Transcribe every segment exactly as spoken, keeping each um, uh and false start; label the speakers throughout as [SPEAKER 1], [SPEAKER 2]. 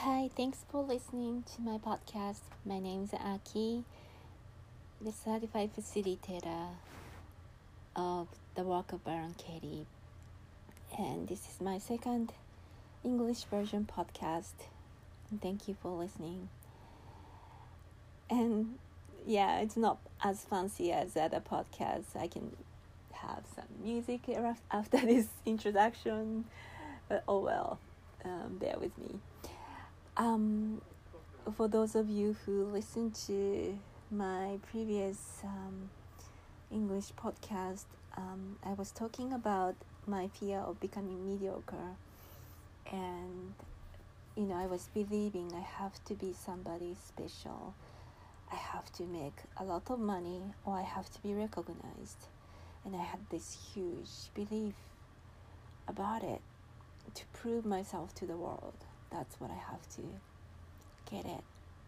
[SPEAKER 1] Hi, thanks for listening to my podcast. My name is Aki, the certified facilitator of the work of Baron Katie. And this is my second English version podcast. And thank you for listening. And yeah, it's not as fancy as other podcasts. I can have some music after this introduction, but oh well, um, bear with me. Um, for those of you who listened to my previous um, English podcast, um, I was talking about my fear of becoming mediocre, and you know, I was believing I have to be somebody special. I have to make a lot of money, or I have to be recognized, and I had this huge belief about it to prove myself to the world. That's what I have to get it.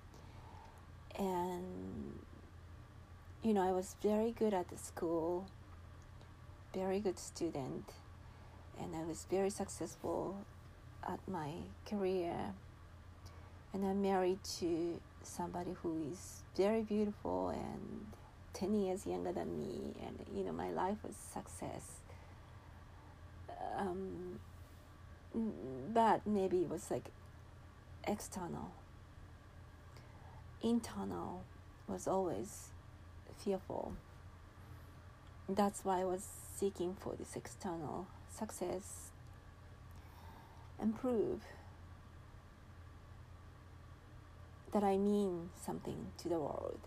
[SPEAKER 1] And, you know, I was very good at the school, very good student, and I was very successful at my career. And I'm married to somebody who is very beautiful and ten years younger than me. And, you know, my life was success. Um, but maybe it was like external. Internal was always fearful. That's why I was seeking for this external success and prove that I mean something to the world.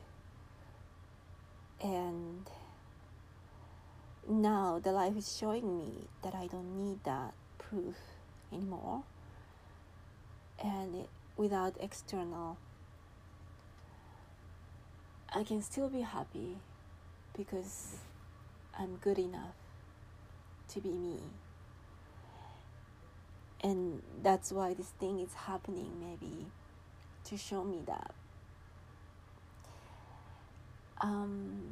[SPEAKER 1] And now the life is showing me that I don't need that proof anymore. And it, without external, I can still be happy because I'm good enough to be me. And that's why this thing is happening, maybe to show me that. Um,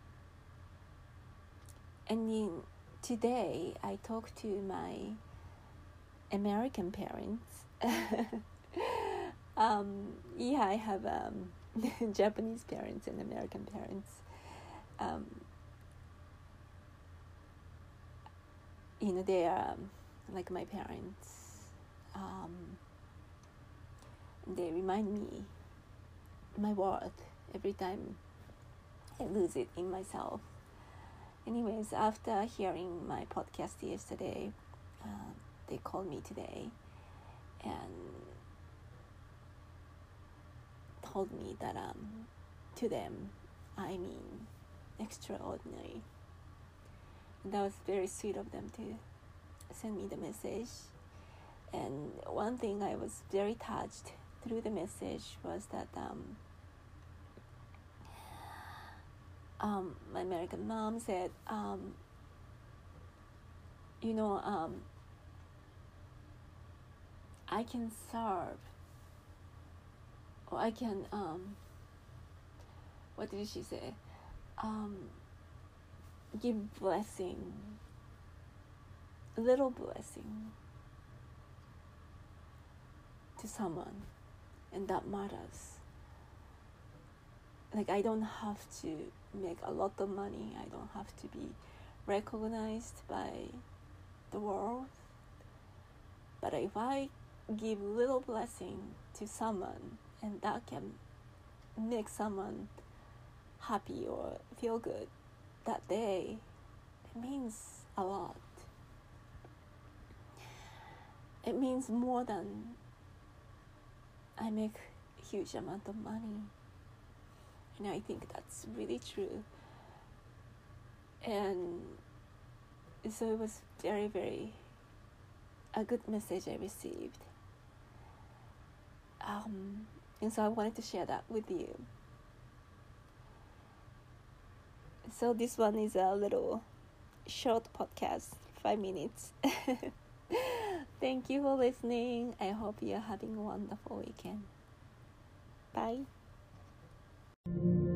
[SPEAKER 1] and in, today I talked to my American parents. um, yeah, I have um, Japanese parents and American parents. Um, you know, they are um, like my parents. Um, they remind me my worth every time I lose it in myself. Anyways, after hearing my podcast yesterday, uh, they called me today and told me that um, to them, I mean extraordinary. And that was very sweet of them to send me the message. And one thing I was very touched through the message was that um, um, my American mom said, um, you know, um, I can serve, or I can, um, what did she say? Um, give blessing, a little blessing to someone, and that matters. Like, I don't have to make a lot of money. I don't have to be recognized by the world. But if I give little blessing to someone, and that can make someone happy or feel good that day, it means a lot. It means more than I make a huge amount of money. And I think that's really true. And so it was very, very a good message I received. Um, and so I wanted to share that with you. So this one is a little short podcast, five minutes. Thank you for listening. I hope you're having a wonderful weekend. Bye.